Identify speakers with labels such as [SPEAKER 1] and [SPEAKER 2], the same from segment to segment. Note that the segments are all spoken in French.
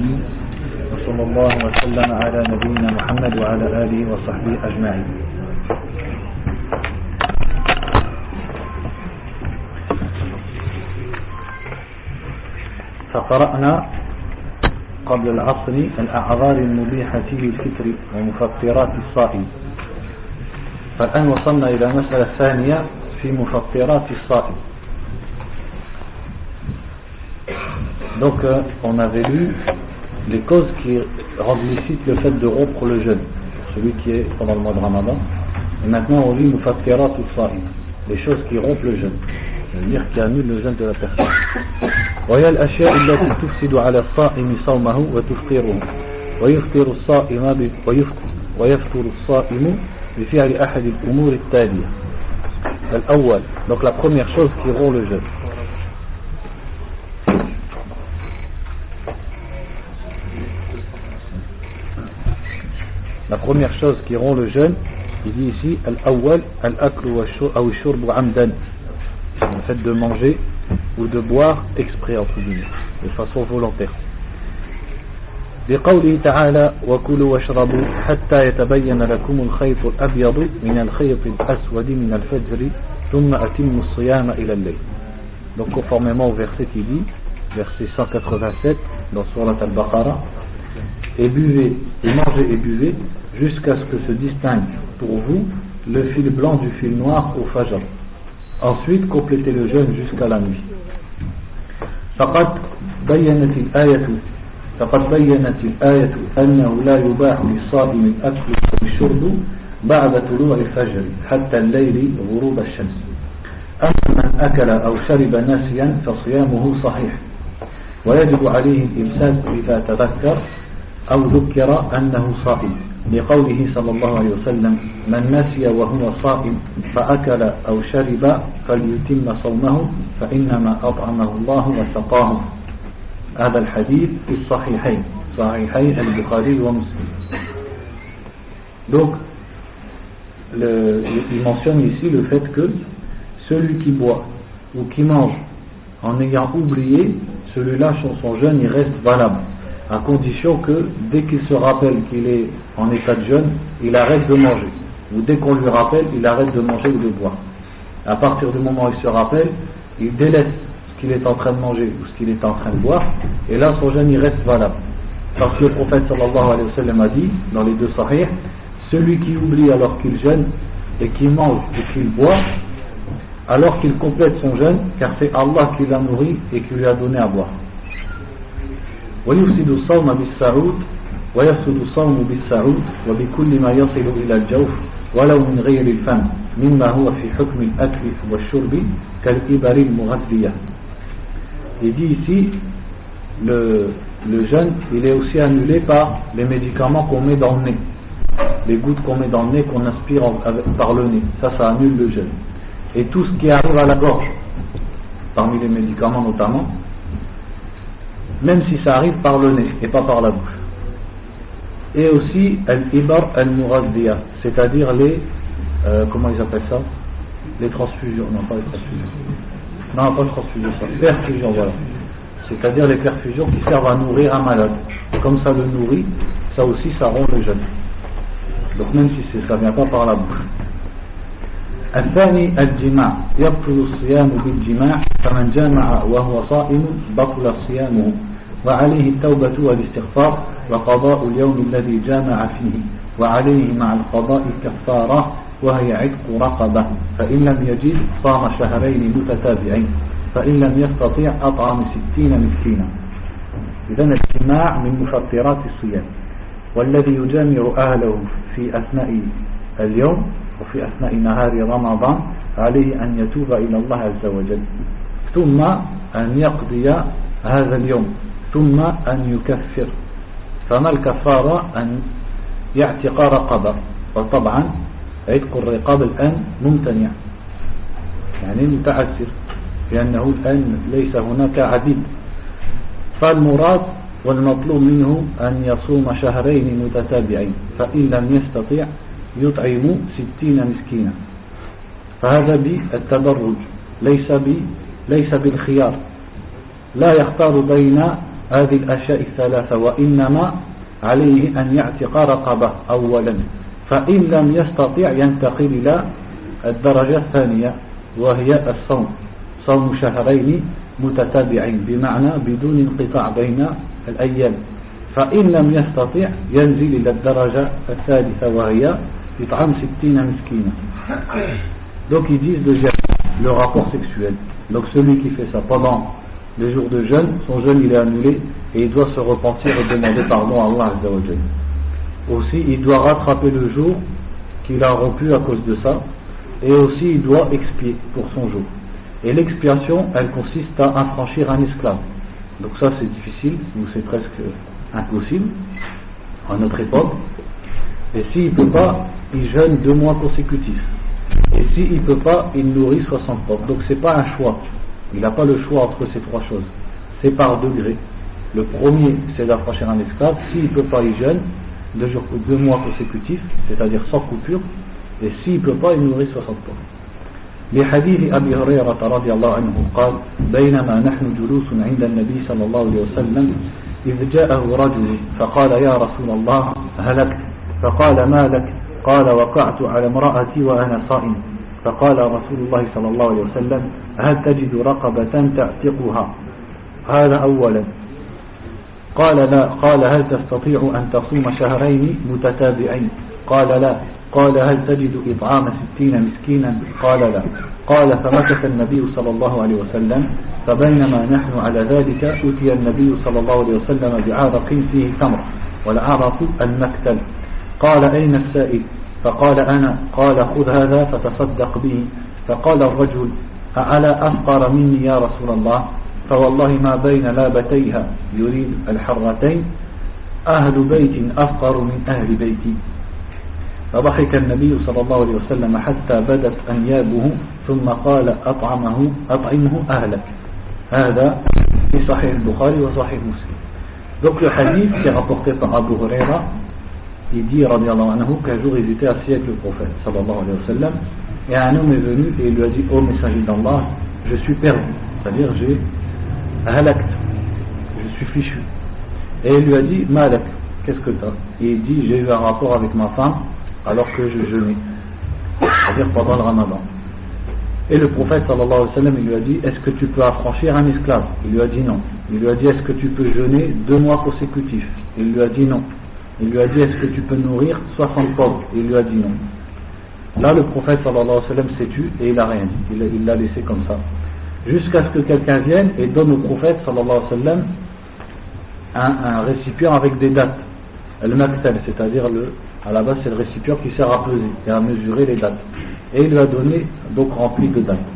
[SPEAKER 1] العالمين وصلى الله وسلم على نبينا محمد وعلى آله وصحبه أجمعين. فقرأنا قبل العصر الأعذار المبيحة للفطر ومفطرات الصائم. فالآن وصلنا إلى المسألة الثانية في مفطرات الصائم. Donc on avait lu les causes qui rendent licite le fait de rompre le jeûne, celui qui est pendant le mois de Ramadan. Et maintenant on lit mufattirat as-sa'im, les choses qui rompent le jeûne, c'est-à-dire qui annulent le jeûne de la personne. وهي الأشياء التي تفسد على الصائم صومه وتفطره ويفطر الصائم ويفطر الصائم بفعل أحد الأمور التالية. الأول, donc la première chose qui rompt le jeûne. La première chose qui rompt le jeûne, il dit ici al-awwal al-aklu wa shurbu amdan, le fait de manger ou de boire exprès entre guillemets, de façon volontaire. بقوله تعالى وكلوا واشربوا حتى يتبين لكم الخيط الأبيض من الخيط الأسود من الفجر ثم أتموا الصيام إلى الليل. Donc conformément au verset qui dit, verset 187 dans Surat Al-Baqarah, et buvez, et mangez et buvez jusqu'à ce que se distingue pour vous le fil blanc du fil noir au fajr. Ensuite complétez le jeûne jusqu'à la nuit. فقد بينت الآية أنه لا يباح للصائم الأكل والشرب بعد طلوع الفجر حتى الليل غروب الشمس. أما من أكل أو شرب ناسيا فصيامه صحيح ويجب عليه الإمساك إذا تذكر أو ذكر أنه صائم لقوله صلى الله عليه وسلم من نسي وهو صائم فأكل أو شرب فليتم صومه فإنما أطعمه الله وسقاه. هذا الحديث في الصحيحين صحيحي البخاري ومسلم. Donc il mentionne ici le fait que celui qui boit ou qui mange en ayant oublié, celui-là son jeûne il reste valable, à condition que dès qu'il se rappelle qu'il est en état de jeûne, il arrête de manger, ou dès qu'on lui rappelle, il arrête de manger ou de boire. À partir du moment où il se rappelle, il délaisse ce qu'il est en train de manger ou ce qu'il est en train de boire, et là son jeûne il reste valable. Parce que le prophète sallallahu alayhi wa sallam a dit dans les deux sahih, celui qui oublie alors qu'il jeûne et qui mange et qu'il boit, alors qu'il complète son jeûne, car c'est Allah qui l'a nourri et qui lui a donné à boire. ويفسد الصوم بالسعود ويفسد الصوم بالسعود وبكل ما يصل إلى الجوف ولو من غير الفم مما هو في حكم الأكل والشرب كالإبر المغذية. Il dit ici le jeûne il est aussi annulé par les médicaments qu'on met dans le nez, les gouttes qu'on met dans le nez, qu'on inspire par le nez, ça annule le jeûne. Et tout ce qui arrive à la gorge, parmi les médicaments notamment, même si ça arrive par le nez et pas par la bouche. Et aussi al-ibar al-mughadhiya, c'est-à-dire les comment ils appellent ça, les transfusions, non pas les transfusions, non pas les transfusions, ça, perfusions, voilà, c'est-à-dire les perfusions qui servent à nourrir un malade. Comme ça le nourrit, ça aussi ça rompt le jeûne. Donc même si ça vient pas par la bouche. الثاني الجماع يبطل الصيام بالجماع فمن جامع وهو صائم بطل صيامه وعليه التوبة والاستغفار وقضاء اليوم الذي جامع فيه وعليه مع القضاء كفارة وهي عتق رقبة فإن لم يجد صام شهرين متتابعين فإن لم يستطيع أطعم 60 مسكينا. إذن الجماع من مفطرات الصيام والذي يجامع أهله في أثناء اليوم وفي أثناء نهار رمضان عليه أن يتوب إلى الله عز وجل ثم أن يقضي هذا اليوم ثم أن يكفر. فما الكفارة؟ أن يعتق رقبة، وطبعا عتق الرقاب الآن ممتنع يعني متعسر لأنه الآن ليس هناك عبيد، فالمراد والمطلوب منه أن يصوم شهرين متتابعين فإن لم يستطيع يطعم 60 مسكينا. فهذا بالتدرج ليس بالخيار، لا يختار بين هذه الأشياء الثلاثة وإنما عليه أن يعتق رقبة أولا فإن لم يستطع ينتقل إلى الدرجة الثانية وهي الصوم صوم شهرين متتابعين بمعنى بدون انقطاع بين الأيام فإن لم يستطع ينزل إلى الدرجة الثالثة وهي إطعام 60 مسكينا. Donc ils disent de jeûne, le rapport sexuel. Donc celui qui fait ça pendant les jours de jeûne, son jeûne il est annulé et il doit se repentir et demander pardon à Allah Azza wa Jalla. Aussi il doit rattraper le jour qu'il a rompu à cause de ça et aussi il doit expier pour son jour. Et l'expiation elle consiste à affranchir un esclave. Donc ça c'est difficile, ou c'est presque impossible à notre époque. Et s'il ne peut pas, il jeûne 2 mois consécutifs. Et s'il ne peut pas, il nourrit 60 pauvres. Donc c'est pas un choix. Il n'a pas le choix entre ces 3 choses. C'est par degré. Le premier, c'est d'affranchir un esclave. S'il ne peut pas, il jeûne 2 mois consécutifs, c'est-à-dire sans coupure. Et s'il ne peut pas, il nourrit 60 pauvres. لحديث أبي هريرة رضي الله عنه قال بينما نحن جلوس عند النبي صلى الله عليه وسلم إذ جاءه رجل فقال يا رسول الله هلكت فقال ما لك قال وقعت على امرأتي وأنا صائم فقال رسول الله صلى الله عليه وسلم هل تجد رقبة تعتقها هذا أولا قال لا قال هل تستطيع أن تصوم شهرين متتابعين قال لا قال هل تجد إطعام 60 مسكينا قال لا قال فمكث النبي صلى الله عليه وسلم فبينما نحن على ذلك أتي النبي صلى الله عليه وسلم بعرق فيه تمر والعرق المكتل قال أين السائل فقال أنا قال خذ هذا فتصدق به فقال الرجل ألا أفقر مني يا رسول الله فوالله ما بين لابتيها يريد الحرتين أهل بيت أفقر من أهل بيتي فضحك النبي صلى الله عليه وسلم حتى بدت أنيابه ثم قال أطعمه أهلك هذا في صحيح البخاري وصحيح مسلم. Donc le hadith qui est rapporté par Abu Huraira, il dit radiallahu anhu qu'un jour il était assis avec le prophète sallallahu alayhi wa sallam et un homme est venu et il lui a dit ô messager d'Allah je suis perdu, c'est-à-dire j'ai halakt, je suis fichu. Et il lui a dit malak, qu'est-ce que t'as? Et il dit j'ai eu un rapport avec ma femme alors que je jeûnais, c'est-à-dire pendant le ramadan. Et le prophète sallallahu alayhi wa sallam il lui a dit est-ce que tu peux affranchir un esclave? Il lui a dit non. Il lui a dit est-ce que tu peux jeûner 2 mois consécutifs? Il lui a dit non. Il lui a dit est-ce que tu peux nourrir 60 pauvres? Il lui a dit non. Là le prophète sallallahu alayhi wa sallam s'est tu et il n'a rien dit, il l'a laissé comme ça jusqu'à ce que quelqu'un vienne et donne au prophète sallallahu alayhi wa sallam un récipient avec des dates, le maktal, c'est-à-dire à la base c'est le récipient qui sert à peser et à mesurer les dates, et il lui a donné donc rempli de dates.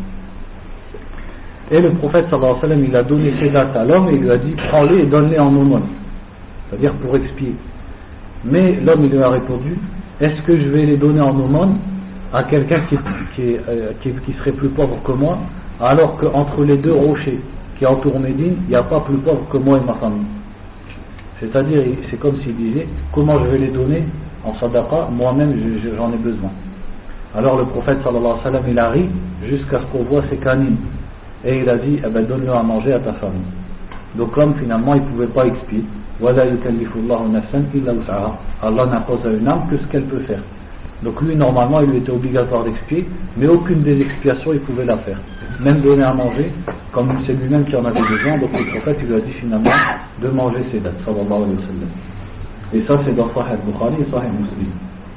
[SPEAKER 1] Et le prophète sallallahu alayhi wa sallam il a donné ces dates à l'homme et il lui a dit prends-les et donne-les en aumône, c'est-à-dire pour expier. Mais l'homme il lui a répondu est-ce que je vais les donner en aumône à quelqu'un qui serait plus pauvre que moi alors qu'entre les 2 rochers qui entourent Médine il n'y a pas plus pauvre que moi et ma famille? C'est-à-dire c'est comme s'il disait comment je vais les donner en sadaqa, moi-même j'en ai besoin. Alors le prophète sallallahu alayhi wa sallam il a ri jusqu'à ce qu'on voit ses canines et il a dit eh ben, donne-le à manger à ta famille. Donc l'homme finalement il ne pouvait pas expier. Allah n'impose à une âme que ce qu'elle peut faire. Donc lui normalement il lui était obligatoire d'expier, mais aucune des expiations il pouvait la faire, même donner à manger comme c'est lui-même qui en avait besoin. Donc le prophète il lui a dit finalement de manger ses dates sallallahu alayhi wa sallam. Et ça c'est dans Sahih Bukhari et Sahih Muslim.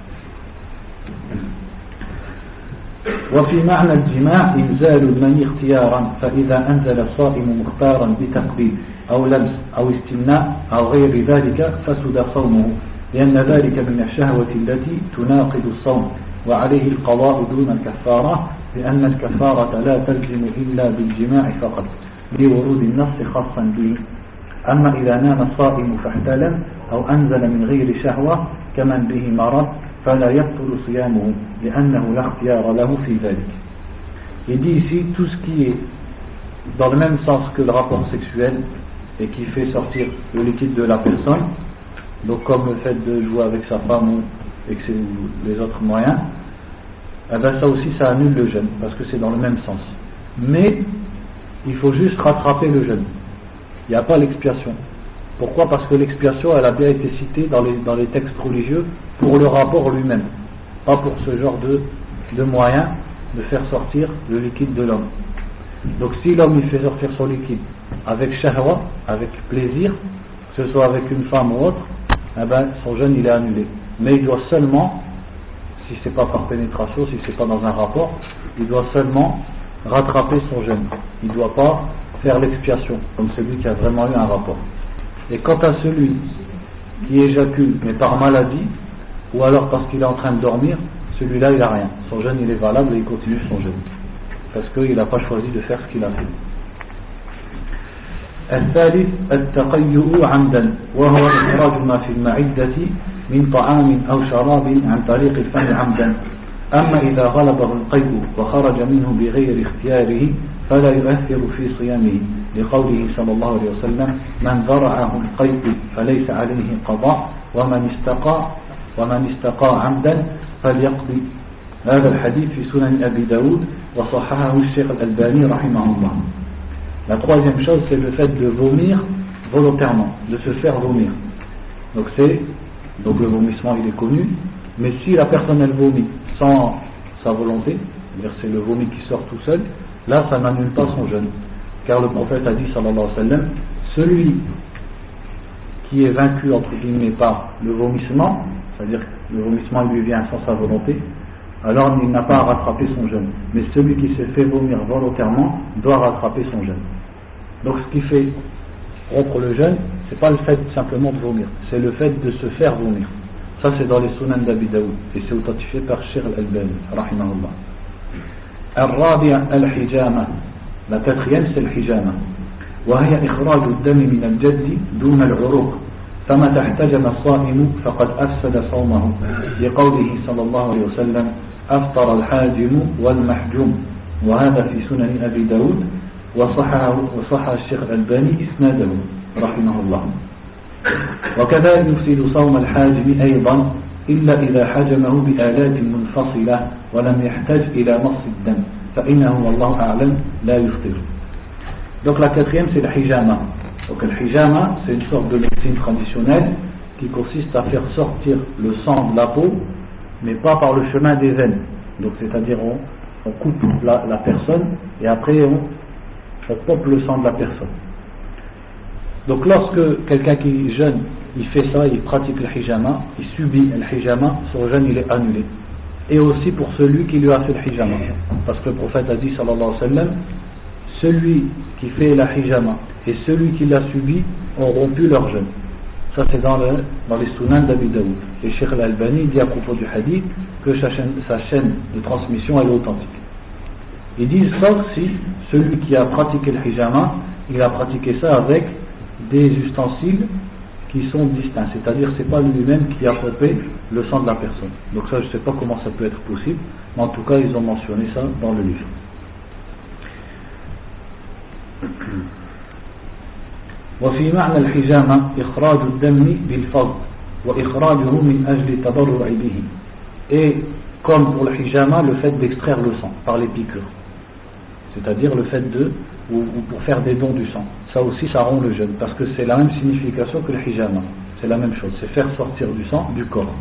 [SPEAKER 1] وفي معنى الجماع إنزال المني اختيارا فإذا أنزل الصائم مختارا بتقبيل أو لمس أو استمناء أو غير ذلك فسد صومه لأن ذلك من الشهوة التي تناقض الصوم وعليه القضاء دون الكفارة لأن الكفارة لا تلزم إلا بالجماع فقط لورود النص خاصا به. أما إذا نام الصائم فاحتلم أو أنزل من غير شهوة كمن به مرض فلا يبطل صيامه لأنه لا اختيار له في ذلك. Il dit ici tout ce qui est dans le même sens que le rapport sexuel et qui fait sortir le liquide de la personne, donc comme le fait de jouer avec sa femme ou les autres moyens, eh ben ça aussi ça annule le jeûne parce que c'est dans le même sens. Mais il faut juste rattraper le jeûne. Il n'y a pas l'expiation. Pourquoi? Parce que l'expiation, elle a bien été citée dans les textes religieux pour le rapport lui-même, pas pour ce genre de moyen de faire sortir le liquide de l'homme. Donc si l'homme il fait sortir son liquide avec shahwa, avec plaisir, que ce soit avec une femme ou autre, eh ben, son jeûne il est annulé. Mais il doit seulement, si c'est pas par pénétration, si c'est pas dans un rapport, il doit seulement rattraper son jeûne. Il ne doit pas faire l'expiation, comme celui qui a vraiment eu un rapport. Et quant à celui qui éjacule, mais par maladie, ou alors parce qu'il est en train de dormir, celui-là il n'a rien. Son jeûne il est valable et il continue son jeûne. Parce qu'il n'a pas choisi de faire ce qu'il a fait. الثالث التقيؤ عمدا وهو إخراج ما في المعدة من طعام أو شراب عن طريق الفم عمدا أما إذا غلبه القيء وخرج منه بغير اختياره فلا يؤثر في صيامه لقوله صلى الله عليه وسلم من ذرعه القيء فليس عليه قضاء ومن استقى عمدا فليقضي. هذا الحديث في سنن أبي داود وصححه الشيخ الألباني رحمه الله. La troisième chose, c'est le fait de vomir volontairement, de se faire vomir. Donc le vomissement il est connu, mais si la personne elle vomit sans sa volonté, c'est-à-dire c'est le vomi qui sort tout seul, là ça n'annule pas son jeûne. Car le prophète a dit sallallahu alayhi wa sallam, celui qui est vaincu entre guillemets par le vomissement, c'est-à-dire que le vomissement lui vient sans sa volonté, alors il n'a pas à rattraper son jeûne. Mais celui qui s'est fait vomir volontairement doit rattraper son jeûne. Donc ce qui fait rompre le jeûne, c'est pas le fait simplement de vomir, c'est le fait de se faire vomir. Ça c'est dans les Sunan d'Abi Daoud et c'est authentifié par Cheikh Al-Albani rahimahullah. الرابع الحجامة. La quatrième c'est le hijama. وهي إخراج الدم من الجد دون العروق. فمتى احتجم الصائم فقد أفسد صومه لقوله صلى الله عليه وسلم أفطر الحاجم والمحجوم وهذا في سنن أبي داود وصح الشيخ الألباني إسناده رحمه الله. وكذا يفسد صوم الحاجم أيضا إلا إذا حجمه بآلات منفصلة ولم يحتج إلى مص الدم فإنه والله أعلم لا يفطر. Donc la quatrième c'est le hijama. Donc le hijama c'est une sorte de médecine traditionnelle qui consiste à faire sortir le sang de la peau mais pas par le chemin des veines. Donc c'est-à-dire on coupe la personne et après on pompe le sang de la personne. Donc lorsque quelqu'un qui jeûne, il fait ça, il pratique le hijama, il subit le hijama, son jeûne il est annulé. Et aussi pour celui qui lui a fait le hijama. Parce que le prophète a dit sallallahu alayhi wa sallam, celui qui fait la hijama et celui qui l'a subi ont rompu leur jeûne. Ça c'est dans les Sunan d'Abi Daoud. Et Cheikh Al-Albani dit à propos du hadith que sa chaîne de transmission elle est authentique. Ils disent sauf si celui qui a pratiqué le hijama, il a pratiqué ça avec des ustensiles qui sont distincts, c'est-à-dire c'est pas lui-même qui a pompé le sang de la personne. Donc ça je sais pas comment ça peut être possible, mais en tout cas ils ont mentionné ça dans le livre. وفي معنى الحجامة إخراج الدم بالفضل وإخراجه من أجل التضرع به. Et comme pour le hijama, le fait d'extraire le sang par les piqûres, c'est-à-dire le fait ou pour faire des dons du sang, ça aussi ça rompt le jeûne parce que c'est la même signification que le hijama, c'est la même chose, c'est faire sortir du sang du corps.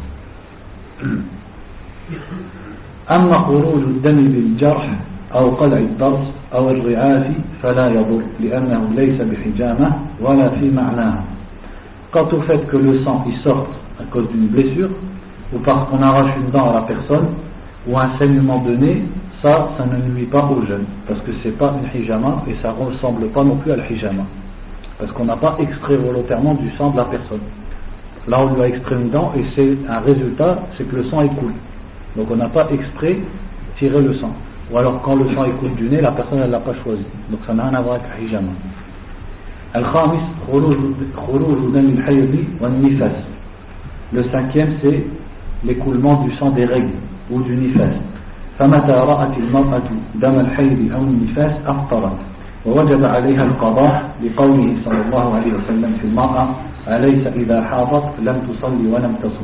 [SPEAKER 1] أما خروج الدم بالجرح أو قلع الضرس أو الرعاف فلا يضر لأنه ليس بحجامة ولا في معناها. Quant au fait que le sang il sorte à cause d'une blessure ou parce qu'on arrache une dent à la personne ou un saignement de nez, ça ne nuit pas au jeûne parce que c'est pas une hijama et ça ressemble pas non plus à la hijama parce qu'on n'a pas extrait volontairement du sang de la personne. Là on lui a extrait une dent et c'est un résultat, c'est que le sang écoule. Donc on n'a pas extrait, tiré le sang. Ou alors quand le sang écoule du nez, la personne elle l'a pas choisi. Donc ça n'a rien à voir avec la hijama. Al-Khamis, khuruj dam al-hayd wa an-nifas. Le cinquième c'est l'écoulement du sang des règles ou du nifas. فمتى رأت المرأة دم الحيض أو النفاس أفطرت ووجب عليها القضاء لقوله صلى الله عليه وسلم في المرأة أليس إذا حاضت لم تصلي ولم تصم.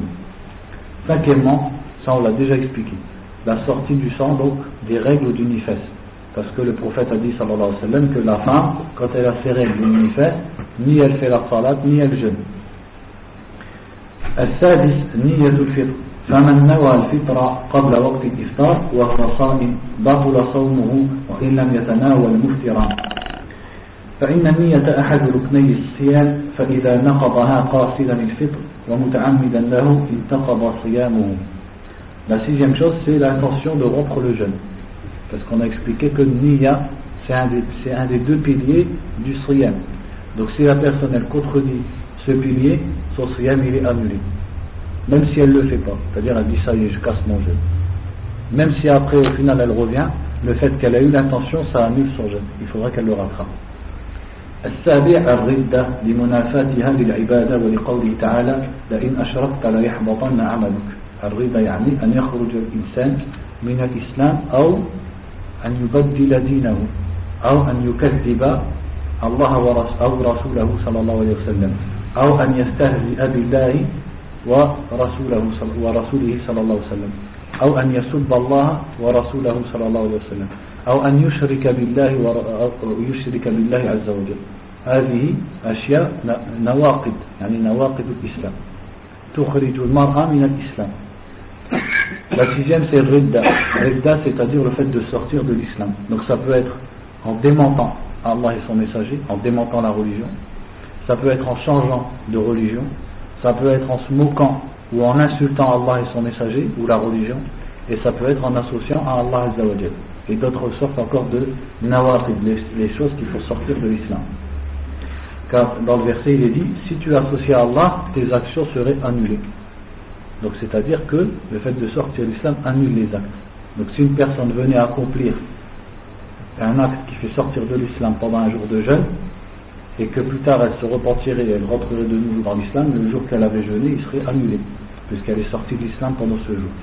[SPEAKER 1] Cinquièmement, ça on l'a déjà expliqué, la sortie du sang donc des règles du nifas, Parce que le prophète a dit sallallahu alayhi wa sallam que la femme, quand elle a ses règles manifestes, ni elle fait la salat, ni elle jeûne. السادس نية الفطر فمن نوى الفطر قبل وقت الإفطار وهو صائم بطل صومه وإن لم يتناول مفطرا فإن النية أحد ركني الصيام فإذا نقضها قاصدا الفطر ومتعمدا له انتقض صيامه. La sixième chose, c'est l'intention de rompre le jeûne. Parce qu'on a expliqué que Niyya, c'est un des deux piliers du Siyam. Donc si la personne elle contredit ce pilier, son Siyam il est annulé. Même si elle ne le fait pas. C'est-à-dire elle dit ça y est, je casse mon jeûne. Même si après au final elle revient, le fait qu'elle a eu l'intention, ça annule son jeûne. Il faudra qu'elle le rattrape. السابع الردة لمنافاتها للعبادة ولقوله تعالى لئن أشركت ليحبطن عملك. الردة يعني أن يخرج الإنسان من الإسلام أو أن يبدل دينه أو أن يكذب الله أو رسوله صلى الله عليه وسلم أو أن يستهزئ بالله ورسوله صلى الله عليه وسلم أو أن يسب الله ورسوله صلى الله عليه وسلم أو أن يشرك بالله عز وجل. هذه أشياء نواقض يعني نواقض الإسلام تخرج المرأة من الإسلام. La sixième c'est Ridda. Ridda c'est-à-dire le fait de sortir de l'islam. Donc ça peut être en démentant Allah et son messager, en démentant la religion. Ça peut être en changeant de religion. Ça peut être en se moquant ou en insultant Allah et son messager ou la religion. Et ça peut être en associant à Allah Azza wa Jal. Et d'autres sortes encore de nawaqid, les choses qu'il faut sortir de l'islam. Car dans le verset il est dit, si tu associes à Allah, tes actions seraient annulées. Donc c'est-à-dire que le fait de sortir de l'islam annule les actes. Donc si une personne venait accomplir un acte qui fait sortir de l'islam pendant un jour de jeûne, et que plus tard elle se repentirait et elle rentrerait de nouveau dans l'islam, le jour qu'elle avait jeûné, il serait annulé, puisqu'elle est sortie de l'islam pendant ce jour.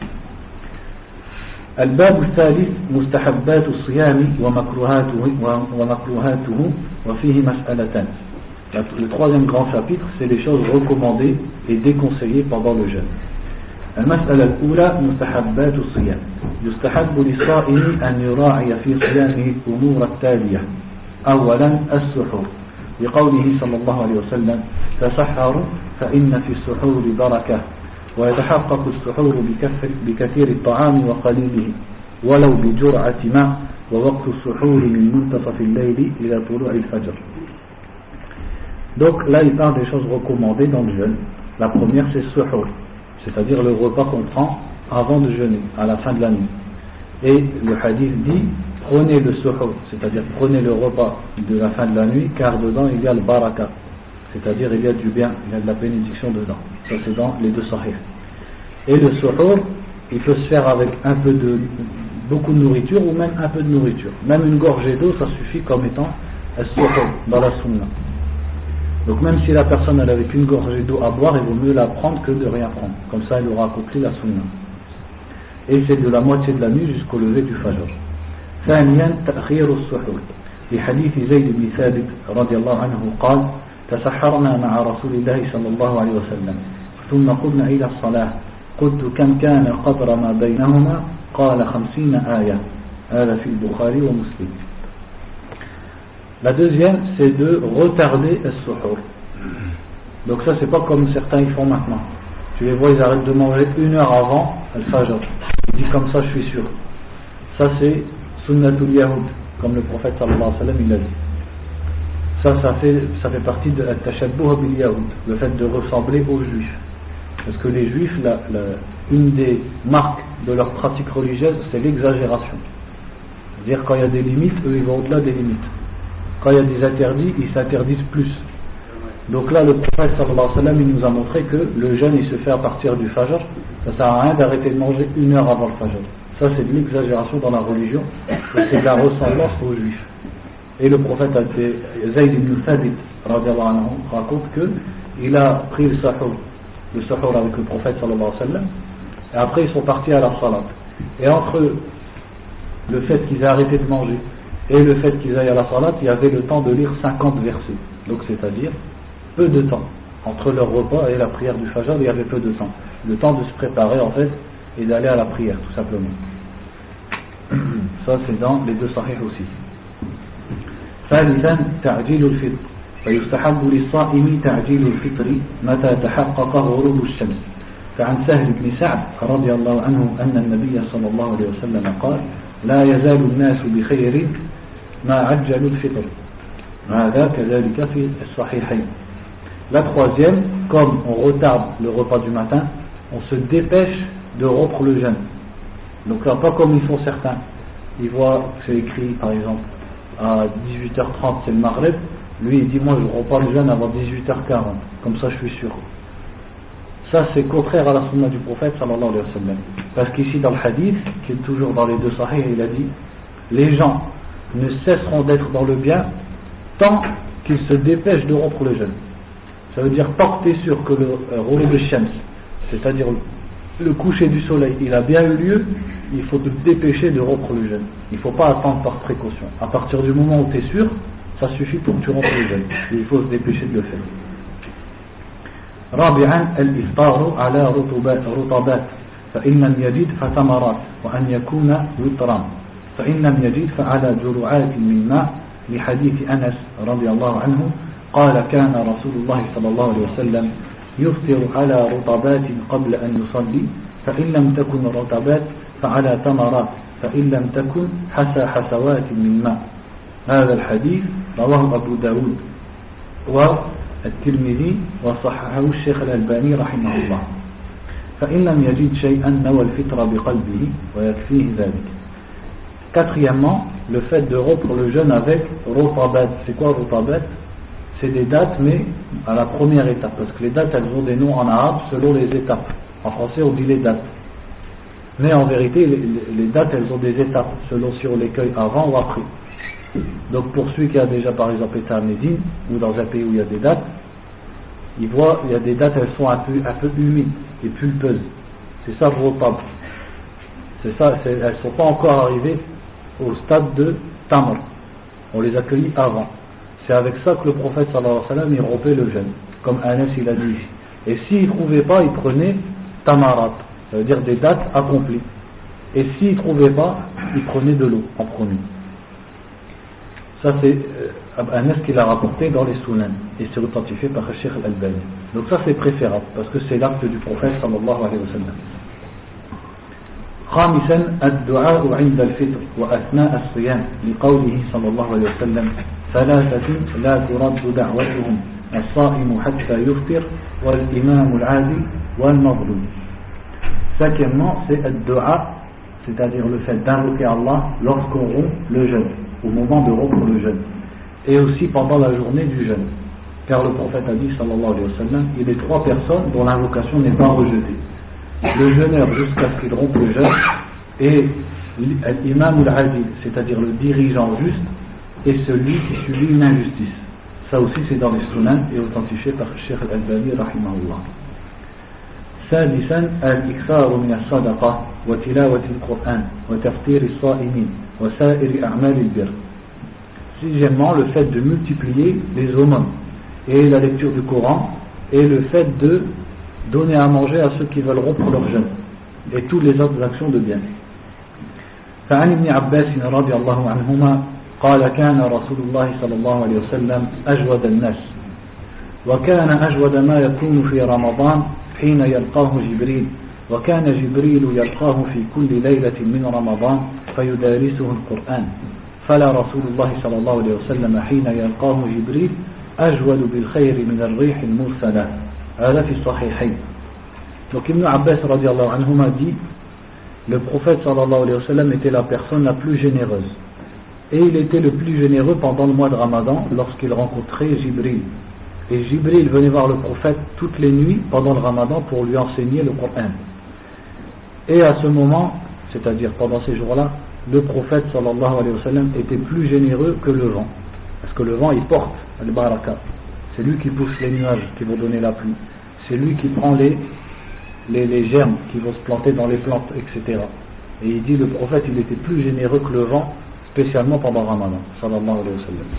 [SPEAKER 1] الباب الثالث مستحبات الصيام ومكروهاته وفيه مسألتان. Le troisième grand chapitre, c'est les choses recommandées et déconseillées pendant le jeûne. المسألة الأولى مستحبات الصيام. يستحب للصائم أن يراعي في صيامه الأمور التالية. أولا السحور لقوله صلى الله عليه وسلم تسحروا فإن في السحور بركة ويتحقق السحور بكثير الطعام وقليله ولو بجرعة ماء ووقت السحور من منتصف الليل إلى طلوع الفجر. Donc là il parle des choses recommandées dans le jeûne. La première c'est suhour, c'est-à-dire le repas qu'on prend avant de jeûner, à la fin de la nuit. Et le hadith dit prenez le suhour, c'est-à-dire prenez le repas de la fin de la nuit, car dedans il y a le baraka, c'est-à-dire il y a du bien, il y a de la bénédiction dedans. Ça c'est dans les deux sahih. Et le suhour, il peut se faire avec beaucoup de nourriture ou même un peu de nourriture. Même une gorgée d'eau, ça suffit comme étant un suhour dans la sunna. Donc même si la personne elle avait qu'une gorgée d'eau à boire, il vaut mieux la prendre que de rien prendre. Comme ça elle aura accompli la sunna. Et c'est de la moitié de la nuit jusqu'au lever du fajr. ثانيا تأخير السحور لحديث زيد بن ثابت رضي الله عنه قال تسحرنا مع رسول الله صلى الله عليه وسلم ثم قمنا إلى الصلاة قلت كم كان قدر ما بينهما قال 50 آية هذا في البخاري ومسلم. La deuxième, c'est de retarder le suhour. Donc ça, c'est pas comme certains ils font maintenant. Tu les vois, ils arrêtent de manger 1 heure avant le fajr. Ils disent comme ça, je suis sûr. Ça, c'est sunnatul yahoud, comme le prophète sallallahu alayhi wa sallam il a dit. Ça fait partie de tashabbuh bil yahoud, le fait de ressembler aux juifs. Parce que les juifs, une des marques de leur pratique religieuse, c'est l'exagération. C'est-à-dire quand il y a des limites, eux ils vont au-delà des limites. Quand il y a des interdits, ils s'interdisent plus. Donc là, le prophète sallallahu alayhi wa sallam, il nous a montré que le jeûne, il se fait à partir du fajr. Ça ne sert à rien d'arrêter de manger 1 heure avant le fajr. Ça, c'est de l'exagération dans la religion. C'est de la ressemblance aux juifs. Et le prophète, Zayd ibn Thabit, raconte qu'il a pris le sahur avec le prophète sallallahu alayhi wa sallam. Et après, ils sont partis à la salat. Et entre le fait qu'ils aient arrêté de manger et le fait qu'ils aillent à la salat, il y avait le temps de lire 50 versets. Donc c'est-à-dire peu de temps. Entre leur repas et la prière du fajr, il y avait peu de temps. Le temps de se préparer en fait et d'aller à la prière tout simplement. ça c'est dans les deux sahih aussi. ثالثا تعجيل الفطر فيستحب للصائم تعجيل الفطر متى تحقق غروب الشمس فعن سهل بن سعد رضي الله عنه أن النبي صلى الله عليه وسلم قال لا يزال الناس بخير ما عجلوا الفطر هذا كذلك في الصحيحين. La troisième, comme on retarde le repas du matin, on se dépêche de rompre le jeûne. Donc là, pas comme ils font certains. Ils voient que c'est écrit, par exemple, à 18h30 c'est le Maghreb. Lui il dit moi je romps pas le jeûne avant 18h40. Comme ça je suis sûr. Ça c'est contraire à la sunna du prophète sallallahu alayhi wa sallam. Parce qu'ici dans le hadith, qui est toujours dans les deux sahih, il a dit les gens ne cesseront d'être dans le bien tant qu'ils se dépêchent de rompre le jeûne. Ça veut dire tant que tu es sûr que le ghurub al-shams, c'est-à-dire le coucher du soleil, il a bien eu lieu, il faut te dépêcher de rompre le jeûne. Il ne faut pas attendre par précaution. À partir du moment où tu es sûr, ça suffit pour que tu rompes le jeûne. Il faut se dépêcher de le faire. رابعا الإفطار على رطبات فإن لم يجد فتمرات وأن يكون وترا فإن لم يجد فعلى جرعات من ماء لحديث أنس رضي الله عنه قال كان رسول الله صلى الله عليه وسلم يفطر على رطبات قبل أن يصلي فإن لم تكن رطبات فعلى تمرات فإن لم تكن حسوات من ماء. هذا الحديث رواه أبو داود والترمذي وصححه الشيخ الألباني رحمه الله. فإن لم يجد شيئا نوى الفطر بقلبه ويكفيه ذلك. Quatrièmement, le fait de rompre le jeûne avec rotabat. C'est quoi rotabat? C'est des dates, mais à la première étape, parce que les dates elles ont des noms en arabe selon les étapes. En français on dit les dates, mais en vérité les dates elles ont des étapes selon si on les cueille avant ou après. Donc pour celui qui a déjà par exemple été à Médine ou dans un pays où il y a des dates, il voit il y a des dates elles sont un peu humides et pulpeuses. C'est ça le rotab. C'est ça, elles sont pas encore arrivées au stade de tamr. On les a cueillies avant. C'est avec ça que le prophète sallallahu alayhi wa sallam il rompait le jeûne, comme Anas il a dit ici. Et s'il ne trouvait pas, il prenait tamarat, ça veut dire des dates accomplies. Et s'il ne trouvait pas, il prenait de l'eau en premier. Ça c'est Anas qui l'a rapporté dans les Sunan et c'est authentifié par le Cheikh Al-Albani. Donc ça c'est préférable parce que c'est l'acte du prophète sallallahu alayhi wa sallam. خامسا الدعاء عند الفطر وأثناء الصيام لقوله صلى الله عليه وسلم ثلاثة لا ترد دعوتهم الصائم حتى يفطر والإمام العادل والمظلوم. Cinquièmement, c'est ad-du'a, c'est-à-dire le fait d'invoquer Allah lorsqu'on rompt le jeûne, au moment de rompre le jeûne, et aussi pendant la journée du jeûne. Car le prophète a dit sallallahu alayhi wa sallam, il y a trois personnes dont l'invocation n'est pas rejetée. Le jeûneur jusqu'à ce qu'il rompe le jeûne et l'imam ou l'adil, c'est-à-dire le dirigeant juste et celui qui subit une injustice. Ça aussi c'est dans les sunan et authentifié par Cheikh Al-Albani rahimahullah. سادسا الإكثار من الصدقة وتلاوة القرآن وتفطير الصائمين وسائر أعمال البر. Sixièmement, le fait de multiplier les aumônes et la lecture du Coran et le fait de donner à manger à ceux qui veulent rompre leur jeûne et toutes les autres actions de bien. فعن ابن عباس رضي الله عنهما قال كان رسول الله صلى الله عليه وسلم أجود الناس وكان أجود ما يكون في رمضان حين يلقاه جبريل وكان جبريل يلقاه في كل ليلة من رمضان فيدارسه القرآن فلا رسول الله صلى الله عليه وسلم حين يلقاه جبريل أجود بالخير من الريح المرسلة. هذا في الصحيحين. Donc Ibn Abbas radiallahu anhuma dit le prophète sallallahu alayhi wa sallam était la personne la plus généreuse et il était le plus généreux pendant le mois de Ramadan lorsqu'il rencontrait Jibril. Et Jibril venait voir le prophète toutes les nuits pendant le Ramadan pour lui enseigner le Coran. Et à ce moment, c'est-à-dire pendant ces jours-là, le prophète sallallahu alayhi wa sallam était plus généreux que le vent. Parce que le vent il porte le baraka. C'est lui qui pousse les nuages qui vont donner la pluie. C'est lui qui prend les germes qui vont se planter dans les plantes, etc. Et il dit le prophète il était plus généreux que le vent, spécialement pendant Ramadan sallallahu alayhi wa sallam.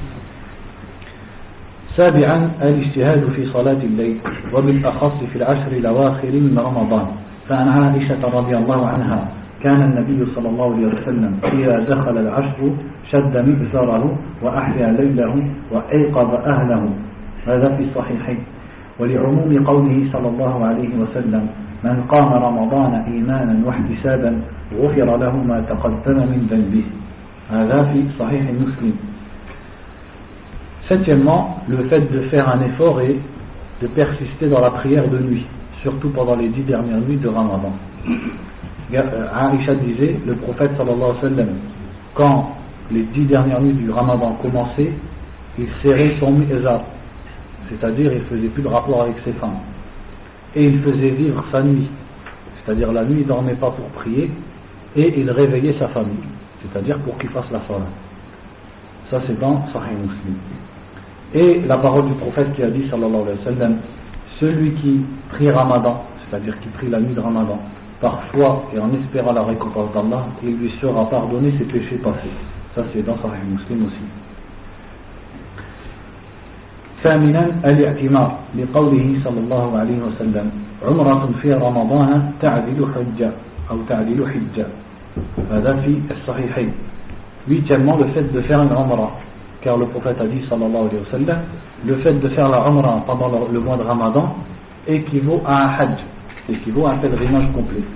[SPEAKER 1] سابعا الاجتهاد في صلاة الليل وبالأخص في العشر الأواخر من رمضان فعن عائشة رضي الله عنها كان النبي صلى الله عليه وسلم إذا دخل العشر شد مئزره وأحيا ليله وأيقظ أهله. هذا في الصحيحين. ولعموم قوله صلى الله عليه وسلم من قام رمضان إيمانا واحتسابا غفر له ما تقدم من ذنبه. هذا في صحيح مسلم. Septièmement, le fait de faire un effort et de persister dans la prière de nuit, surtout pendant les 10 dernières nuits de Ramadan. Aïcha disait, le prophète sallallahu alayhi wa sallam, quand les 10 dernières nuits du Ramadan commençaient, il serrait son mi'zar, c'est-à-dire il faisait plus de rapport avec ses femmes, et il faisait vivre sa nuit, c'est-à-dire la nuit il ne dormait pas pour prier, et il réveillait sa famille, c'est-à-dire pour qu'il fasse la salat. Ça c'est dans Sahih Muslim. Et la parole du prophète qui a dit sallallahu alayhi wa sallam, celui qui prie Ramadan, c'est-à-dire qui prie la nuit de Ramadan, par foi et en espérant la récompense d'Allah, il lui sera pardonné ses péchés passés. Ça c'est dans Sahih Muslim aussi. ثامنا الاعتمار لقوله صلى الله عليه وسلم عمرة في رمضان تعدل حجة أو تعدل حجة. هذا في الصحيحين. Huitièmement, le fait de faire une umrah, car le prophète a dit sallallahu alayhi wa sallam, le fait de faire la umrah pendant le mois de Ramadan équivaut à un hajj, équivaut à un pèlerinage complet.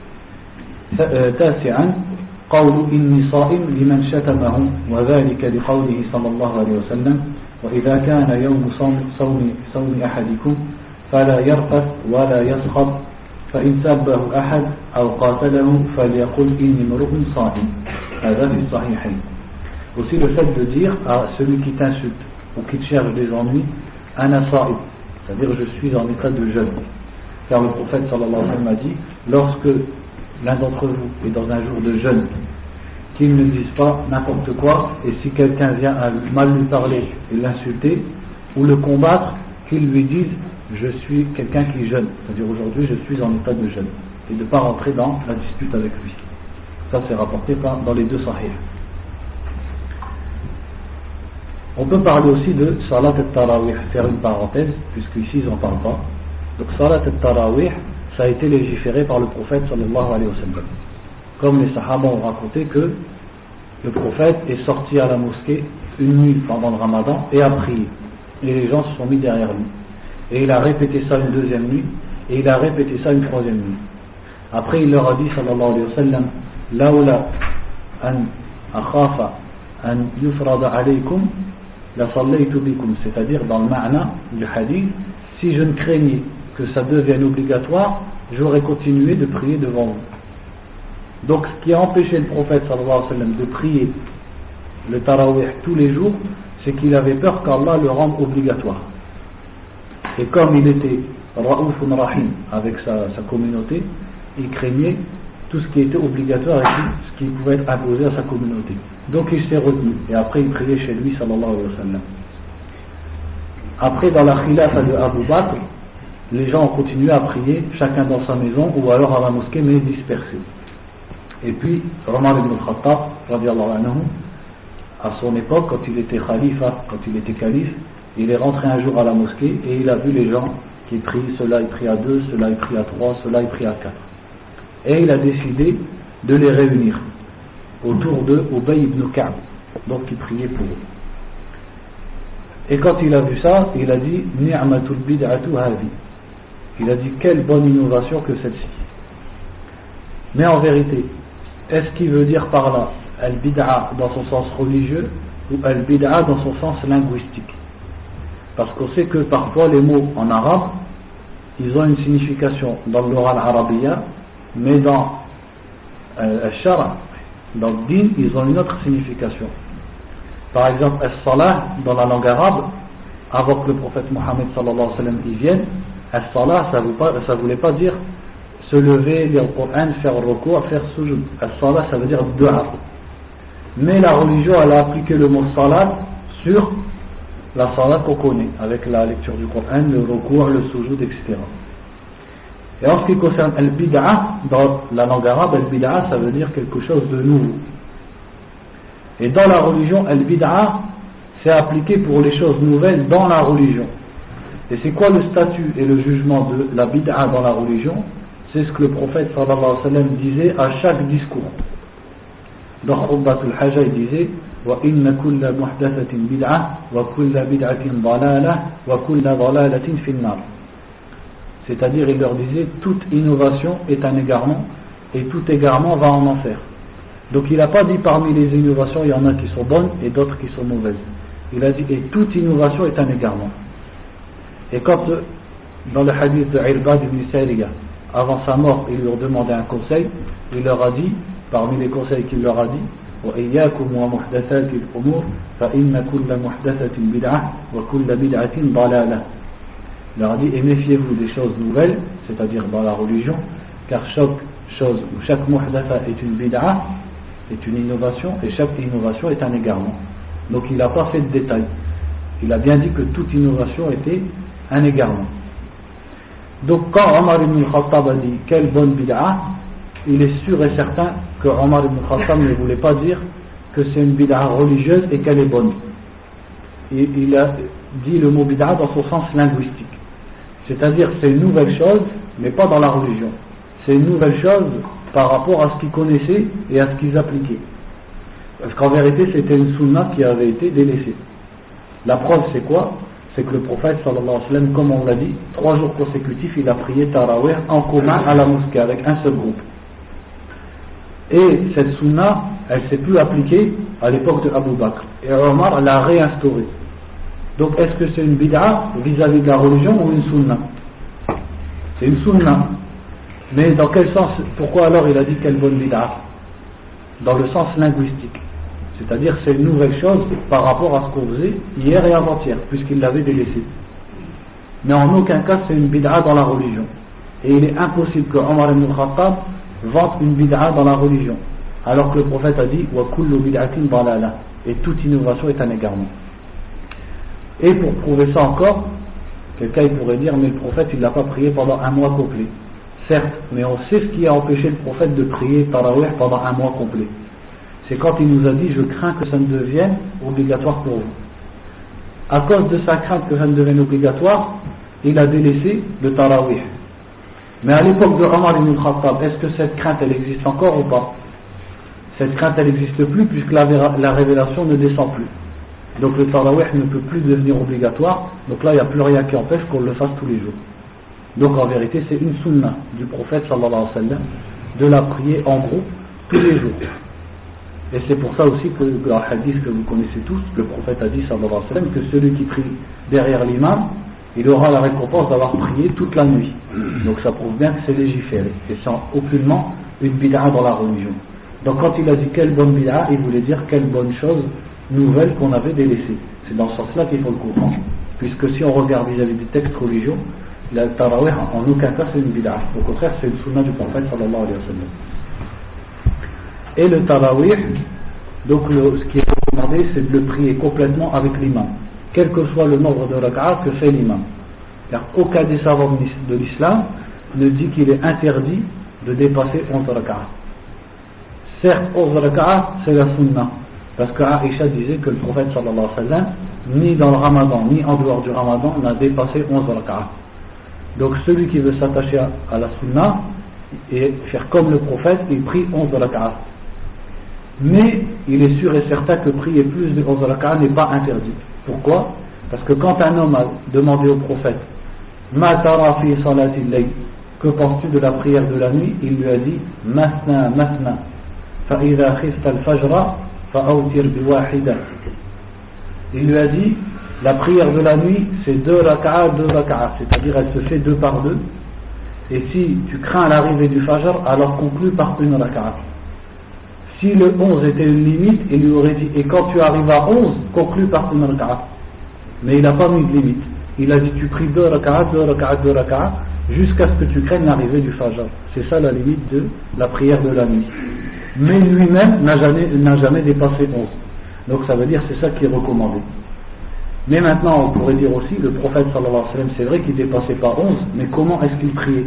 [SPEAKER 1] تاسعا قول إني صائم لمن شتمه وذلك لقوله صلى الله عليه وسلم وإذا كان يوم صوم أحدكم فلا يرقص ولا يسخط فإن سبه أحد أو قاتله فليقل إني امرؤ صائم. هذا في الصحيحين. Aussi le fait de dire à celui qui t'insulte ou qui te cherche des ennuis, ana sa'ib, c'est-à-dire je suis en état de jeûne. Car le prophète sallallahu alayhi wa sallam a dit, lorsque l'un d'entre vous est dans un jour de jeûne, qu'il ne dise pas n'importe quoi, et si quelqu'un vient à mal lui parler et l'insulter, ou le combattre, qu'il lui dise je suis quelqu'un qui jeûne, c'est-à-dire aujourd'hui je suis en état de jeûne, et de ne pas rentrer dans la dispute avec lui. Ça c'est rapporté dans les deux sahih. On peut parler aussi de Salat al-Tarawih, faire une parenthèse, puisqu'ici ils n'en parlent pas. Donc Salat al-Tarawih, ça a été légiféré par le prophète sallallahu alayhi wa sallam. Comme les Sahaba ont raconté que le prophète est sorti à la mosquée une nuit pendant le Ramadan et a prié. Et les gens se sont mis derrière lui. Et il a répété ça une deuxième nuit, et il a répété ça une troisième nuit. Après il leur a dit sallallahu alayhi wa sallam, Laoula an akhafa an yufrada alaykum la sallaytu bikum, c'est-à-dire dans le ma'na du hadith, si je ne craignais que ça devienne obligatoire, j'aurais continué de prier devant vous. Donc ce qui a empêché le prophète sallallahu alayhi wa sallam de prier le tarawih tous les jours, c'est qu'il avait peur qu'Allah le rende obligatoire. Et comme il était Ra'oufun Rahim avec sa communauté, il craignait tout ce qui était obligatoire et tout ce qui pouvait être imposé à sa communauté. Donc il s'est retenu et après il priait chez lui sallallahu alayhi wa sallam. Après dans la khilafa de Abu Bakr, les gens ont continué à prier chacun dans sa maison ou alors à la mosquée mais dispersés. Et puis Omar ibn al-Khattab radiyallahu anhu, à son époque quand il était khalifa, quand il était calife, il est rentré un jour à la mosquée et il a vu les gens qui prient, ceux-là ils prient à 2, ceux-là ils prient à 3, ceux-là ils prient à 4. Et il a décidé de les réunir autour de Ubay ibn Ka'b, donc il priait pour eux. Et quand il a vu ça, il a dit Ni'matul bid'atu hadhi. Il a dit quelle bonne innovation que celle-ci. Mais en vérité, est-ce qu'il veut dire par là al-bid'a dans son sens religieux ou al-bid'a dans son sens linguistique? Parce qu'on sait que parfois les mots en arabe, ils ont une signification dans l'oral arabia, mais dans al-shara, dans le din, ils ont une autre signification. Par exemple, as-salah, dans la langue arabe, avant que le prophète Mohammed sallallahu alayhi wa sallam y vienne, as-salah, ça voulait pas dire se lever, lire le Coran, faire le recours, faire sujoud. As-salah, ça veut dire dua. Mais la religion, elle a appliqué le mot salat sur la salat qu'on connaît, avec la lecture du Coran, le recours, le sujoud, etc. Et en ce qui concerne al-bid'a, dans la langue arabe, al-bid'a, ça veut dire quelque chose de nouveau. Et dans la religion, al-bid'a, c'est appliqué pour les choses nouvelles dans la religion. Et c'est quoi le statut et le jugement de la bid'a dans la religion? c'est ce que le prophète sallallahu alayhi wa sallam disait à chaque discours. Dans Khutbatul Haja, il disait وَإِنَّ كُلَّ مُحْدَثَةٍ بِدْعَةٍ وَكُلَّ بِدْعَةٍ ضَلَالَةٍ وَكُلَّ ضَلَالَةٍ فِي النَّارِ. C'est-à-dire, il leur disait, toute innovation est un égarement et tout égarement va en enfer. Donc il n'a pas dit parmi les innovations il y en a qui sont bonnes et d'autres qui sont mauvaises. Il a dit et toute innovation est un égarement. Et quand dans le hadith de Irbad ibn Sariya, avant sa mort, il leur demandait un conseil, il leur a dit, parmi les conseils qu'il leur a dit, وَإِيَّاكُمْ وَمُحْدَثَاتِ الْأُمُورِ فَإِنَّ كُلَّ مُحْدَثَةٍ بِدْعَةٍ وَكُلَّ بِدْعَةٍ ضَلَالَةٍ. Il leur a dit et méfiez-vous des choses nouvelles, c'est-à-dire dans la religion, car chaque chose ou chaque muhdatha est une bid'a, est une innovation, et chaque innovation est un égarement. Donc il n'a pas fait de détails. Il a bien dit que toute innovation était un égarement. Donc quand Omar ibn Khattab a dit quelle bonne bid'a, il est sûr et certain que Omar ibn Khattab ne voulait pas dire que c'est une bid'a religieuse et qu'elle est bonne. Il a dit le mot bid'a dans son sens linguistique. C'est-à-dire c'est une nouvelle chose, mais pas dans la religion. C'est une nouvelle chose par rapport à ce qu'ils connaissaient et à ce qu'ils appliquaient. Parce qu'en vérité, c'était une sunna qui avait été délaissée. La preuve, c'est quoi? C'est que le prophète, sallallahu alayhi wa sallam, comme on l'a dit, 3 jours consécutifs, il a prié Tarawih en commun à la mosquée avec un seul groupe. Et cette sunna, elle ne s'est plus appliquée à l'époque de Abu Bakr. Et Omar l'a réinstaurée. Donc, est-ce que c'est une bid'a vis-à-vis de la religion ou une sunna? C'est une sunna. Mais dans quel sens? Pourquoi alors il a dit quelle bonne bid'a? Dans le sens linguistique. C'est-à-dire c'est une nouvelle chose par rapport à ce qu'on faisait hier et avant-hier, puisqu'il l'avait délaissé. Mais en aucun cas c'est une bid'a dans la religion. Et il est impossible que Omar ibn Khattab vante une bid'a dans la religion. Alors que le prophète a dit wa kullu bid'atin dalala, et toute innovation est un égarement. Et pour prouver ça encore, quelqu'un il pourrait dire mais le prophète il l'a pas prié pendant un mois complet. Certes, mais on sait ce qui a empêché le prophète de prier Tarawih pendant un mois complet. C'est quand il nous a dit je crains que ça ne devienne obligatoire pour vous. À cause de sa crainte que ça ne devienne obligatoire, il a délaissé le Tarawih. Mais à l'époque de Omar ibn Khattab, est-ce que cette crainte elle existe encore ou pas? Cette crainte elle n'existe plus puisque la révélation ne descend plus. Donc le Tarawih ne peut plus devenir obligatoire, donc là il n'y a plus rien qui empêche qu'on le fasse tous les jours. Donc en vérité c'est une sunna du prophète sallallahu alayhi wa sallam de la prier en groupe tous les jours. Et c'est pour ça aussi que le hadith que vous connaissez tous, le prophète a dit sallallahu alayhi wa sallam que celui qui prie derrière l'imam, il aura la récompense d'avoir prié toute la nuit. Donc ça prouve bien que c'est légiféré et sans aucunement une bid'a dans la religion. Donc quand il a dit quelle bonne bid'a, il voulait dire quelle bonne chose nouvelle qu'on avait délaissée. C'est dans ce sens-là qu'il faut le comprendre. Puisque si on regarde vis-à-vis des textes religieux, la Tarawih en aucun cas c'est une bid'a. Au contraire c'est une sunna du prophète sallallahu alayhi wa sallam. Et le Tarawih, donc ce qui est recommandé c'est de le prier complètement avec l'imam, quel que soit le nombre de rak'at que fait l'imam. Car aucun des savants de l'islam ne dit qu'il est interdit de dépasser 11 rak'at. Certes 11 rak'at c'est la sunna, parce que Aïcha disait que le prophète sallallahu alayhi wa sallam ni dans le ramadan ni en dehors du ramadan n'a dépassé 11 rak'at. Donc celui qui veut s'attacher à la sunna et faire comme le prophète, il prie 11 rak'at. Mais il est sûr et certain que prier plus de 11 rak'at n'est pas interdit. Pourquoi? Parce que quand un homme a demandé au prophète Ma tara fi salati al-layl, que penses-tu de la prière de la nuit? Il lui a dit Masna, masna, fa idha khifta al-fajra fa awtir bi wahida. Il lui a dit la prière de la nuit c'est 2 rak'at, c'est-à-dire elle se fait 2 par 2. Et si tu crains l'arrivée du fajr, alors conclue par une rak'at. Si le 11 était une limite, il lui aurait dit et quand tu arrives à 11, conclue par une rak'at. Mais il n'a pas mis de limite. Il a dit tu pries 2 rak'at, jusqu'à ce que tu craignes l'arrivée du fajr. C'est ça la limite de la prière de la nuit. Mais lui-même n'a jamais dépassé 11. Donc ça veut dire c'est ça qui est recommandé. Mais maintenant on pourrait dire aussi le prophète sallallahu alayhi wa sallam c'est vrai qu'il ne dépassait pas 11, mais comment est-ce qu'il priait?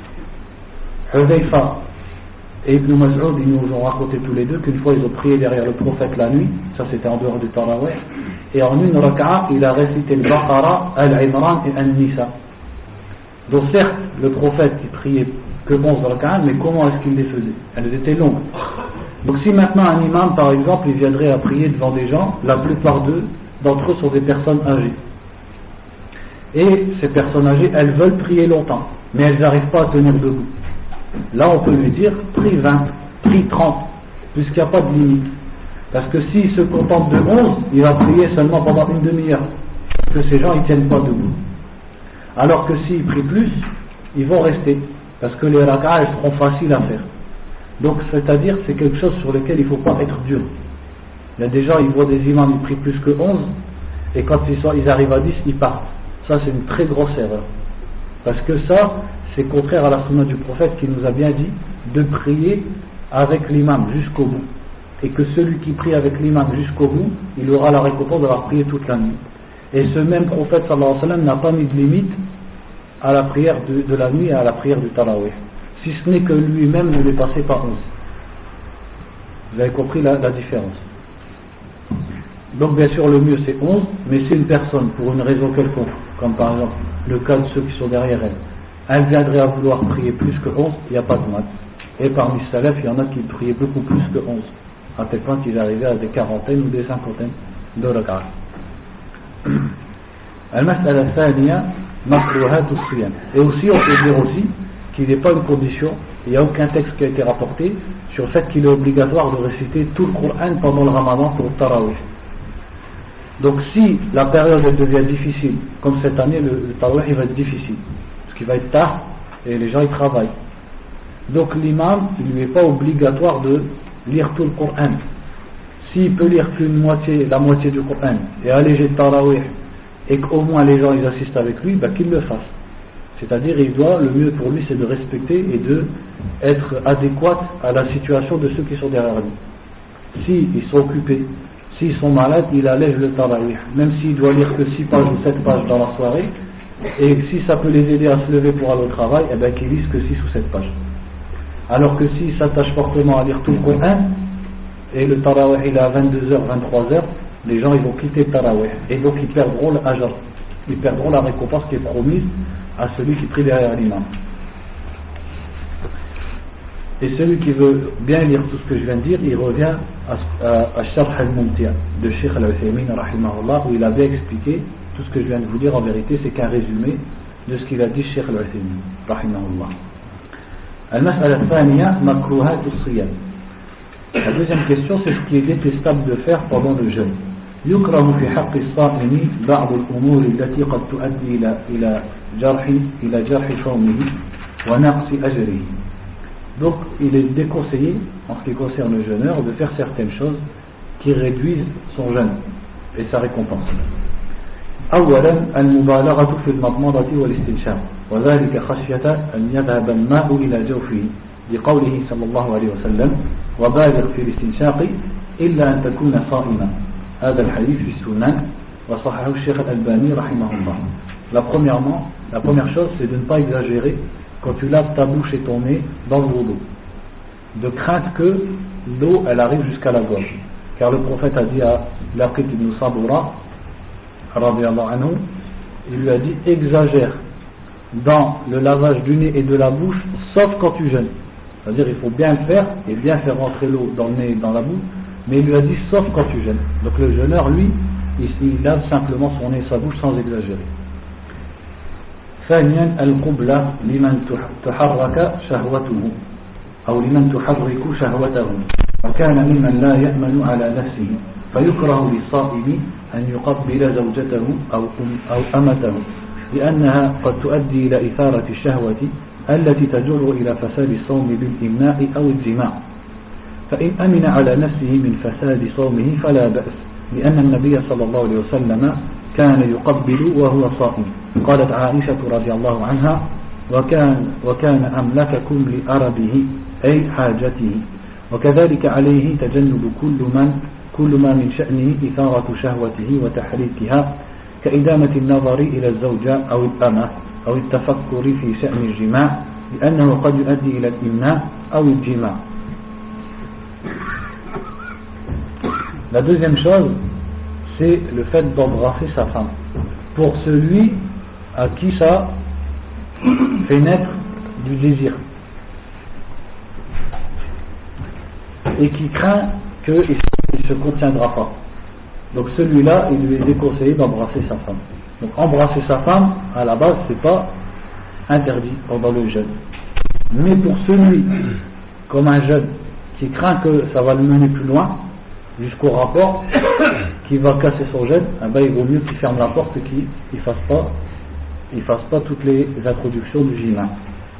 [SPEAKER 1] Hudayfa et Ibn Mas'ud ils nous ont raconté tous les deux qu'une fois ils ont prié derrière le prophète la nuit, ça c'était en dehors du Tarawih, et en une rak'a il a récité le Baqara, Al-Imran et An-Nisa. Donc certes, le prophète il priait que 11 rak'at, mais comment est-ce qu'il les faisait? Elles étaient longues. Donc si maintenant un imam par exemple il viendrait à prier devant des gens, la plupart d'entre eux sont des personnes âgées. Et ces personnes âgées, elles veulent prier longtemps, mais elles n'arrivent pas à tenir debout. Là on peut lui dire, prie 20, prie 30, puisqu'il n'y a pas de limite. Parce que s'il se contente de 11, il va prier seulement pendant une demi-heure. Parce que ces gens ils ne tiennent pas debout. Alors que s'ils prient plus, ils vont rester. Parce que les rak'ah, elles seront faciles à faire. Donc, c'est-à-dire, c'est quelque chose sur lequel il ne faut pas être dur. Il y a des gens, ils voient des imams, ils prient plus que 11, et quand ils arrivent à 10, ils partent. Ça, c'est une très grosse erreur. Parce que ça, c'est contraire à la sunna du prophète qui nous a bien dit de prier avec l'imam jusqu'au bout. Et que celui qui prie avec l'imam jusqu'au bout, il aura la récompense d'avoir prié toute la nuit. Et ce même prophète, sallallahu alayhi wa sallam, n'a pas mis de limite à la prière de la nuit et à la prière du tarawih, si ce n'est que lui-même ne dépassait pas 11. Vous avez compris la différence. Donc bien sûr le mieux c'est 11, mais si une personne pour une raison quelconque, comme par exemple le cas de ceux qui sont derrière elle viendrait à vouloir prier plus que 11, il n'y a pas de mal. Et parmi les salafs, il y en a qui priaient beaucoup plus que 11, à tel point qu'ils arrivaient à des quarantaines ou des cinquantaines de rak'at. Al-mas'ala thaniya makruhat as-siyam. Et aussi on peut dire aussi qu'il n'est pas une condition, il n'y a aucun texte qui a été rapporté sur le fait qu'il est obligatoire de réciter tout le Coran pendant le Ramadan pour le Tarawih. Donc si la période elle devient difficile, comme cette année le Tarawih il va être difficile, parce qu'il va être tard et les gens ils travaillent. Donc l'imam il ne lui est pas obligatoire de lire tout le Coran. S'il peut lire la moitié du Coran et alléger le Tarawih et qu'au moins les gens ils assistent avec lui, qu'il le fasse. C'est-à-dire le mieux pour lui c'est de respecter et de être adéquat à la situation de ceux qui sont derrière lui. S'ils sont occupés, s'ils sont malades, il allège le tarawih, même s'il doit lire que 6 pages ou 7 pages dans la soirée, et si ça peut les aider à se lever pour aller au travail, qu'ils lisent que 6 ou 7 pages. Alors que s'ils s'attachent fortement à lire tout le Coran, et le tarawih il est à 22h, 23h, les gens ils vont quitter le tarawih, et donc ils perdront l'ajr, ils perdront la récompense qui est promise à celui qui prie derrière l'imam. Et celui qui veut bien lire tout ce que je viens de dire, il revient à Sharh al-Mumti' de Cheikh al-Uthaymin rahimahullah, où il avait expliqué tout ce que je viens de vous dire. En vérité c'est qu'un résumé de ce qu'il a dit Cheikh al-Uthaymin rahimahullah. Al-mas'ala thaniya makruhat as-siyam. La deuxième question, c'est ce qui est détestable de faire pendant le jeûne. يكره في حق الصائم بعض الأمور التي قد تؤدي إلى جرح صومه ونقص أجره. Donc il est déconseillé en ce qui concerne le jeûneur de faire certaines choses qui réduisent son jeûne et sa récompense. أولا المبالغة في المضمضة والاستنشاق وذلك خشية أن يذهب الماء إلى جوفه لقوله صلى الله عليه وسلم وبالغ في الاستنشاق إلا أن تكون صائما. هذا الحديث في السنن وصححه الشيخ الألباني رحمه الله. La première chose c'est de ne pas exagérer quand tu laves ta bouche et ton nez dans l'eau d'eau, de crainte que l'eau elle arrive jusqu'à la gorge, car le prophète a dit à Laqit ibn Sabura radiyallahu anhu, il lui a dit exagère dans le lavage du nez et de la bouche sauf quand tu jeûnes, c'est-à-dire il faut bien le faire et bien faire rentrer l'eau dans le nez et dans la bouche, mais il lui a dit sauf quand tu jeûnes. Donc le jeûneur lui il lave simplement son nez et sa bouche sans exagérer. ثانيا القبلة لمن تحرك شهوته أو لمن تحرك شهوته وكان ممن لا يأمن على نفسه فيكره للصائم أن يقبل زوجته أو أمته لأنها قد تؤدي إلى إثارة الشهوة التي تجر إلى فساد الصوم بالإمناء أو الجماع فإن أمن على نفسه من فساد صومه فلا بأس لأن النبي صلى الله عليه وسلم كان يقبل وهو صائم. قالت عائشة رضي الله عنها وكان أملككم لأربه أي حاجته وكذلك عليه تجنب كل ما من شأنه إثارة شهوته وتحريكها كإدامة النظر إلى الزوجة أو الأمة أو التفكر في شأن الجماع لأنه قد يؤدي إلى الإمناء أو الجماع. La deuxième chose, c'est le fait d'embrasser sa femme. Pour celui à qui ça fait naître du désir et qui craint qu'il ne se contiendra pas. Donc celui-là, il lui est déconseillé d'embrasser sa femme. Donc embrasser sa femme, à la base, c'est pas interdit pendant le jeûne. Mais pour celui, comme un jeune, qui craint que ça va le mener plus loin, jusqu'au rapport, qui va casser son jeûne, il vaut mieux qu'il ferme la porte et qu'il ne fasse pas toutes les introductions du jima.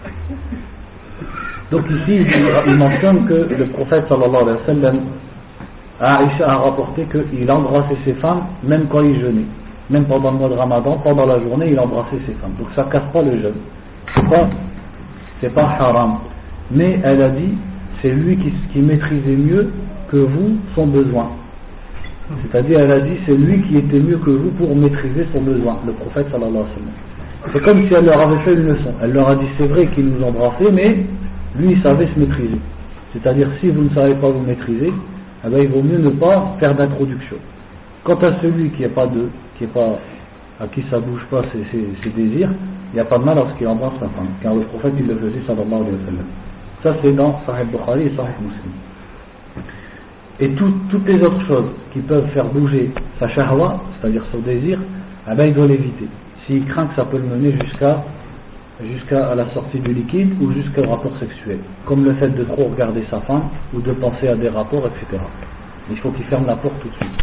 [SPEAKER 1] Donc ici, il mentionne que le prophète sallallahu alayhi wa sallam, Aïcha a rapporté qu'il embrassait ses femmes même quand il jeûnait. Même pendant le mois de Ramadan, pendant la journée, il embrassait ses femmes. Donc ça ne casse pas le jeûne. C'est pas haram. Mais elle a dit, c'est lui qui maîtrisait mieux que vous son besoin. C'est-à-dire, elle a dit, c'est lui qui était mieux que vous pour maîtriser son besoin, le prophète sallallahu alayhi wa sallam. C'est comme si elle leur avait fait une leçon. Elle leur a dit, c'est vrai qu'il nous embrassait, mais lui, il savait se maîtriser. C'est-à-dire, si vous ne savez pas vous maîtriser, eh bien, il vaut mieux ne pas faire d'introduction. Quant à celui à qui ça bouge pas ses désirs, il n'y a pas de mal lorsqu'il embrasse sa femme, car le prophète il le faisait sallallahu alayhi wa sallam. Ça c'est dans Sahih Bukhari et Sahih Muslim. Et toutes les autres choses qui peuvent faire bouger sa shahwa, c'est-à-dire son désir, eh bien, il doit l'éviter. S'il craint que ça peut le mener jusqu'à la sortie du liquide ou jusqu'au rapport sexuel, comme le fait de trop regarder sa femme ou de penser à des rapports, etc. Il faut qu'il ferme la porte tout de suite.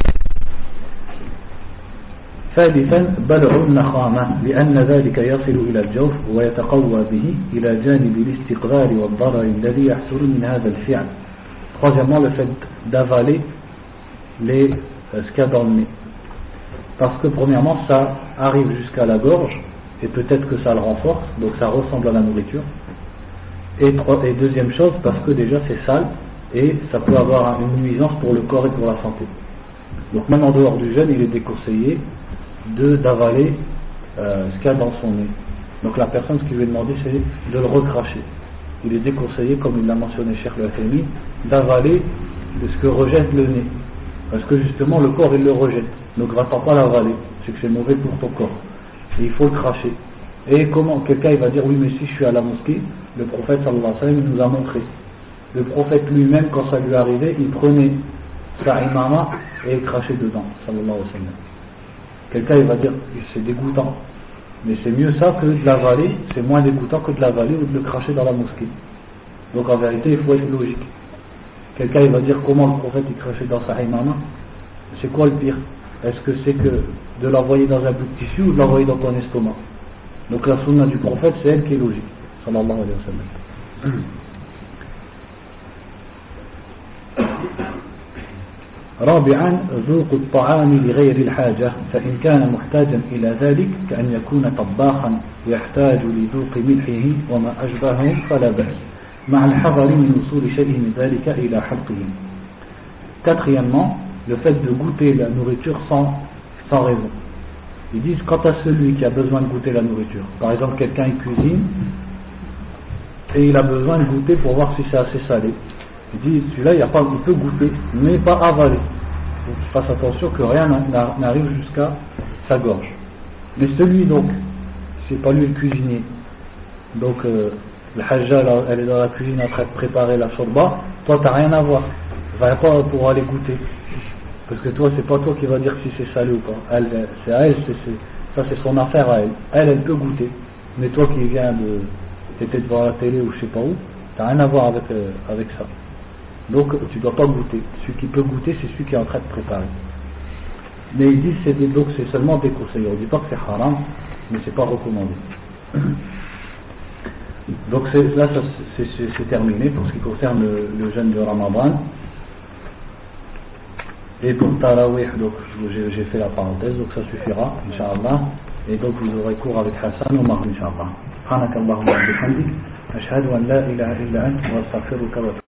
[SPEAKER 1] ثالثا بلع النخامة لأن ذلك يصل إلى الجوف ويتقوى به إلى جانب الاستقرار والضرر الذي يحصل من هذا الفعل. Troisièmement, le fait d'avaler ce qu'il y a dans le nez. Parce que premièrement, ça arrive jusqu'à la gorge et peut-être que ça le renforce, donc ça ressemble à la nourriture. Et deuxième chose, parce que déjà c'est sale et ça peut avoir une nuisance pour le corps et pour la santé. Donc même en dehors du jeûne, il est déconseillé d'avaler ce qu'il y a dans son nez. Donc la personne, ce qu'il lui est demandé, c'est de le recracher. Il est déconseillé, comme il l'a mentionné Cheikh Al-Uthaymin, d'avaler de ce que rejette le nez. Parce que justement le corps il le rejette. Donc va-t'en pas l'avaler, c'est que c'est mauvais pour ton corps. Et il faut le cracher. Et comment quelqu'un il va dire oui mais si je suis à la mosquée, le prophète sallallahu alayhi wa sallam il nous a montré. Le prophète lui-même quand ça lui arrivait, il prenait sa imama et il crachait dedans, sallallahu alayhi wa sallam. Quelqu'un il va dire c'est dégoûtant. Mais c'est mieux ça que de l'avaler, c'est moins dégoûtant que de l'avaler ou de le cracher dans la mosquée. Donc en vérité il faut être logique. Quelqu'un il va dire comment le prophète il crachait dans sa imama. C'est quoi le pire? Est-ce que c'est que de l'envoyer dans un bout de tissu ou de l'envoyer dans ton estomac? Donc la sunna du prophète c'est elle qui est logique, sallallahu alayhi wa sallam. رابعا ذوق الطعام لغير الحاجة فإن كان محتاجا إلى ذلك كأن يكون طباخا يحتاج لذوق ملحه وما أشبهه فلا بأس مع الحذر من وصول شيء من ذلك إلى حلقه. Quatrièmement, le fait de goûter la nourriture sans raison. Ils disent quant à celui qui a besoin de goûter la nourriture, par exemple quelqu'un il cuisine et il a besoin de goûter pour voir si c'est assez salé. Il dit celui-là il peut goûter mais pas avaler. Donc il fasse attention que rien n'arrive jusqu'à sa gorge. Mais celui donc, c'est pas lui le cuisinier, donc le hajja elle est dans la cuisine en train de préparer la shorba, toi t'as rien à voir, va pas pour aller goûter. Parce que toi, c'est pas toi qui va dire si c'est salé ou pas. C'est à elle, ça c'est son affaire à elle. Elle peut goûter. Mais toi qui viens t'étais devant la télé ou je sais pas où, t'as rien à voir avec ça. Donc tu dois pas goûter. Celui qui peut goûter, c'est celui qui est en train de préparer. Mais ils disent donc c'est seulement déconseillé. On dit pas que c'est haram, mais c'est pas recommandé. Donc là, c'est terminé pour ce qui concerne le jeûne de Ramadan. Et pour Tarawih, donc j'ai fait la parenthèse, donc ça suffira, Inch'Allah. Et donc vous aurez cours avec Hassan ou Omar, Inch'Allah. Subhanakallahumma wa bihamdik, ashhadu an la ilaha illa anta wa astaghfiruka wa